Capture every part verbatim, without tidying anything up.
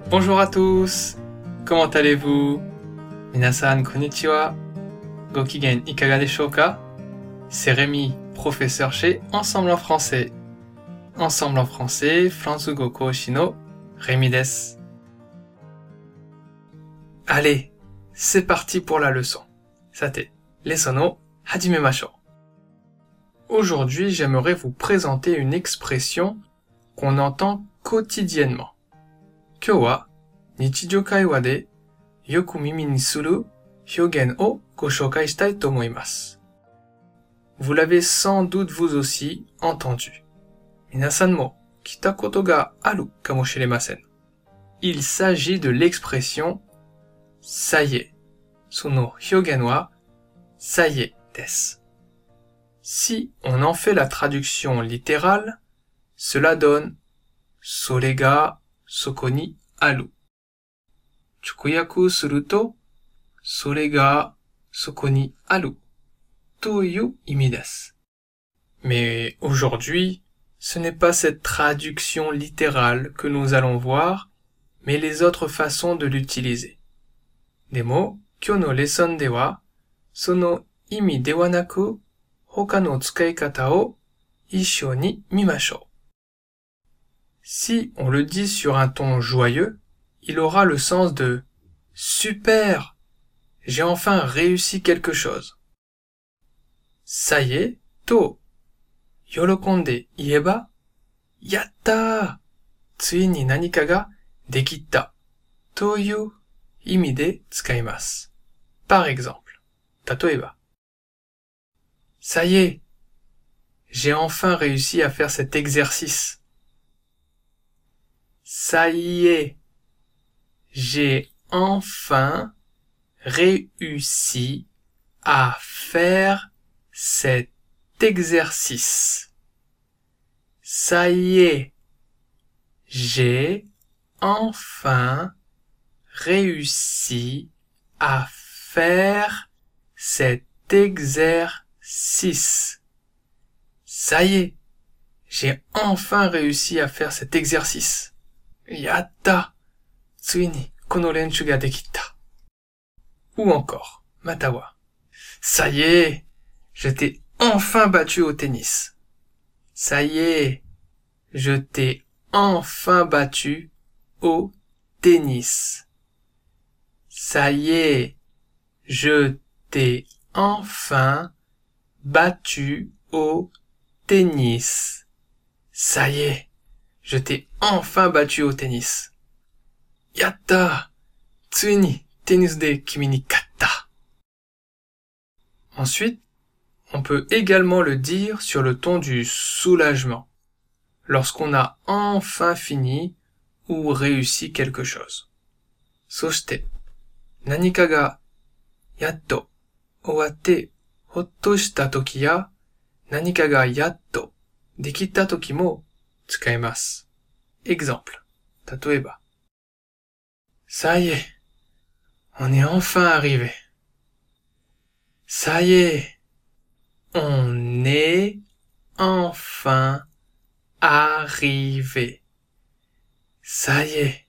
Bonjour à tous! Comment allez-vous? Minasan, konnichiwa! Gokigen ikaga desho ka? C'est Rémi, professeur chez Ensemble en français. Ensemble en français, Fransugo Koushi no Rémi desu. Allez, c'est parti pour la leçon. Sate, leçon o hajimemashou. Aujourd'hui, j'aimerais vous présenter une expression qu'on entend quotidiennement. Kyou wa nichijou kaiwa de yoku mimi ni suru hyogen o go shoukai shitai to omoimasu. Vous l'avez sans doute vous aussi entendu. Minasan mo kita koto ga aru kamoshiremasen. Il s'agit de l'expression ça y est. Sono hyogen wa ça y est desu. Si on en fait la traduction littérale, cela donne sore ga soko ni aru. Chukuyaku suru to sore ga soko ni aru toいう意味です. Mais aujourd'hui, ce n'est pas cette traduction littérale que nous allons voir, mais les autres façons de l'utiliser. Demo, kyou no lesson de wa, sono imi de wa naku, hoka no tsukaikata o issho ni mimashou. Si on le dit sur un ton joyeux, il aura le sens de « Super! J'ai enfin réussi quelque chose !» Ça y est, to yorokonde ieba yatta! Tsui ni nanika ga dekitta toいう意味で使います. Par exemple, tatoeba. Ça y est, j'ai enfin réussi à faire cet exercice. Ça y est, j'ai enfin réussi à faire cet exercice. Ça y est, j'ai enfin réussi à faire cet exercice. Ça y est, j'ai enfin réussi à faire cet exercice. Yatta! Tsui ni kono renshu ga dekitta. Ou encore, matawa. Ça y est, je t'ai enfin battu au tennis. Ça y est, je t'ai enfin battu au tennis. Ça y est, je t'ai enfin battu au tennis. Ça y est, je t'ai enfin battu au tennis. Yatta! Tsui ni tennis de kimi ni katta. Ensuite, on peut également le dire sur le ton du soulagement, lorsqu'on a enfin fini ou réussi quelque chose. Soshite, nanika ga yatto owatte hotto shita toki ya nanika ga yatto dekitta toki mo tsukaimasu. Exemple, tatoeba. Ça y est, on est enfin arrivé. Ça y est, on est enfin arrivé. Ça y est,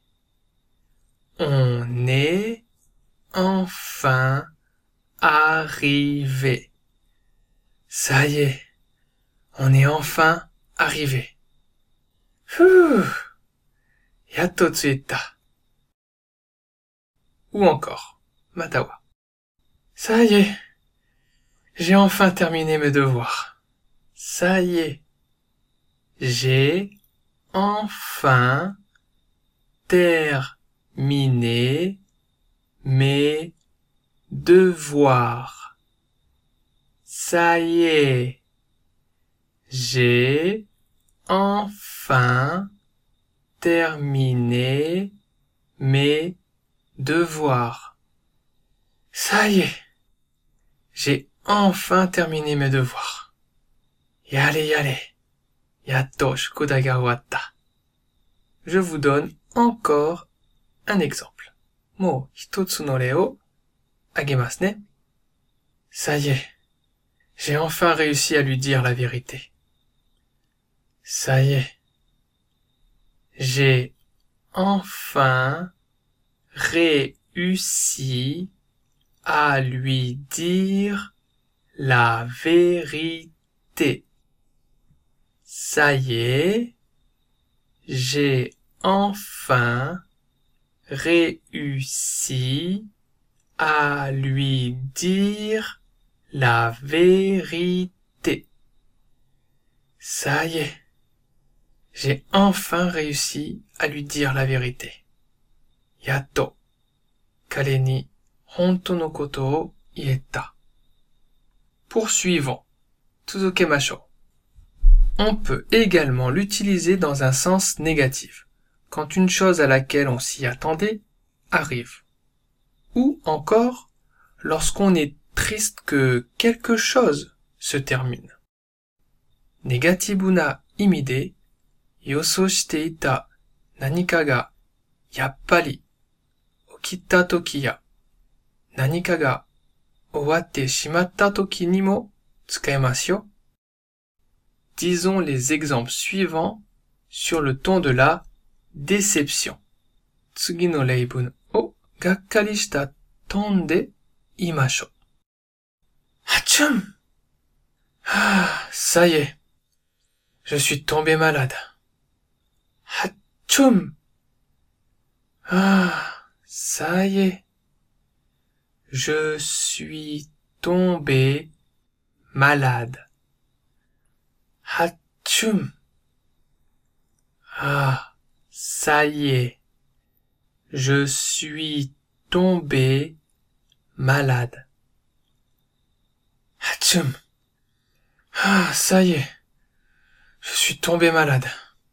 on est enfin arrivé. Ça y est, on est enfin arrivé. Fuh! Yatto tsuita. Ou encore, matawa. Ça y est, j'ai enfin terminé mes devoirs. Ça y est, j'ai enfin terminé mes devoirs. Ça y est, j'ai enfin terminé mes devoirs. Ça y est, j'ai enfin terminé mes devoirs. Yare yare, yatto shukudai ga owatta. Je vous donne encore un exemple. Mou hitotsu no rei o agemasu ne. Ça y est, j'ai enfin réussi à lui dire la vérité. Ça y est, j'ai enfin réussi à lui dire la vérité. Ça y est, j'ai enfin réussi à lui dire la vérité. Ça y est, j'ai enfin réussi à lui dire la vérité. Yatto, kare ni honto no koto o ieta. Poursuivons. Tsuzukemashou. On peut également l'utiliser dans un sens négatif, quand une chose à laquelle on s'y attendait arrive. Ou encore, lorsqu'on est triste que quelque chose se termine. Negativu na imi de, yosou shite ita nanika ga yappari okita toki ya, nanika ga owatte shimatta toki ni mo tsukaemasu yo. Disons les exemples suivants sur le ton de la déception. Tsugi no reibun o gakkari shita ton de imashou. Hachum! Ah, ça y est. Je suis tombé malade. Hachum! Ah, ça y est. Je suis tombé malade. Hachum! Ah, ça y est. Je suis tombé malade. Hachum! Ah, ça y est. Je suis tombé malade.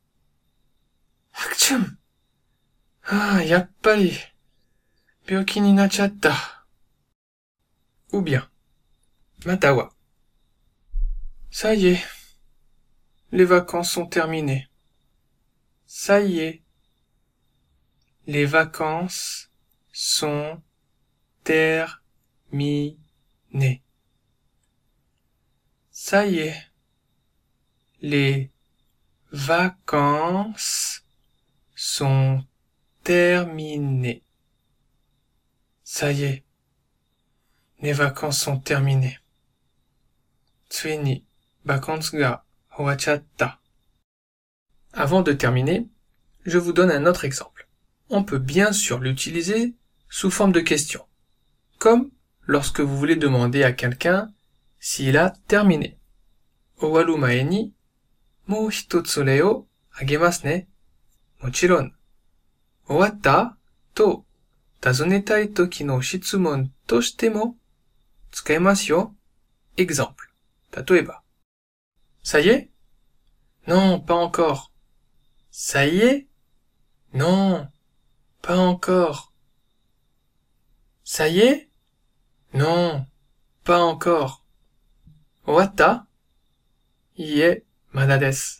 Hachum! Ah, yappari. Byoki ni nachatta. Ou bien, matawa. Ça y est. Les vacances sont terminées. Ça y est. Les vacances sont terminées. Ça y est. Les vacances sont terminées. Ça y est. Les vacances sont terminées. Tsui ni vacances ga owachatta. Avant de terminer, je vous donne un autre exemple. On peut bien sûr l'utiliser sous forme de question, comme lorsque vous voulez demander à quelqu'un s'il a terminé. Owaru mae ni mou hitotsu re o agemasu ne. Mochiron. Owatta to tazonetai toki no shitsumon toshite mo tsukaemasu yo. Exemple. Tatoeba. Ça y est? Non, pas encore. Ça y est? Non, pas encore. Ça y est? Non, pas encore. Owatta? Iie, mada desu.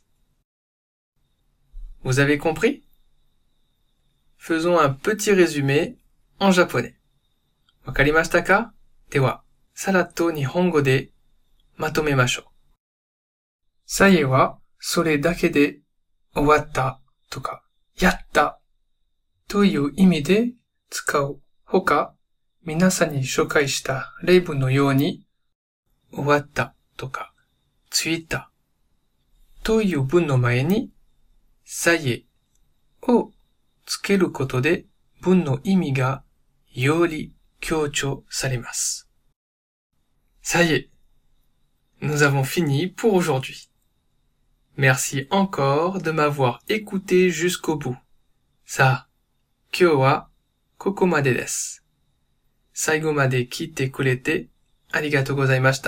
Vous avez compris? Faisons un petit résumé en japonais. Wakarimashita ka? Dewa, saratto nihongo de matomemashou. Ça y est wa, sore dake de owatta toka yatta toいう意味で使うほか、皆さんに紹介した例文のように、終わったとか、ついたという文の前に、さえをつけることで文の意味がより強調されます。Ça y est, nous avons fini pour aujourd'hui. Merci encore de m'avoir écouté jusqu'au bout. さあ、今日はここまでです。最後まで聞いてくれてありがとうございました。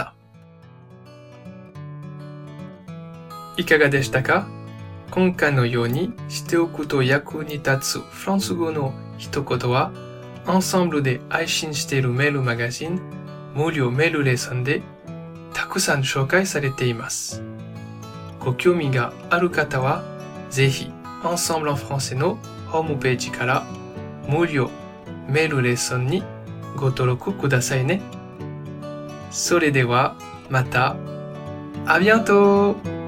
いかがでしたか？今回のようにしておくと役に立つフランス語の一言は、アンサンブルで配信しているメールマガジン、無料メールレッスンでたくさん紹介されています。ご興味がある方は、ぜひ、Ensemble en Français のホームページから無料メールレッスンにご登録くださいね。それでは、また、à bientôt!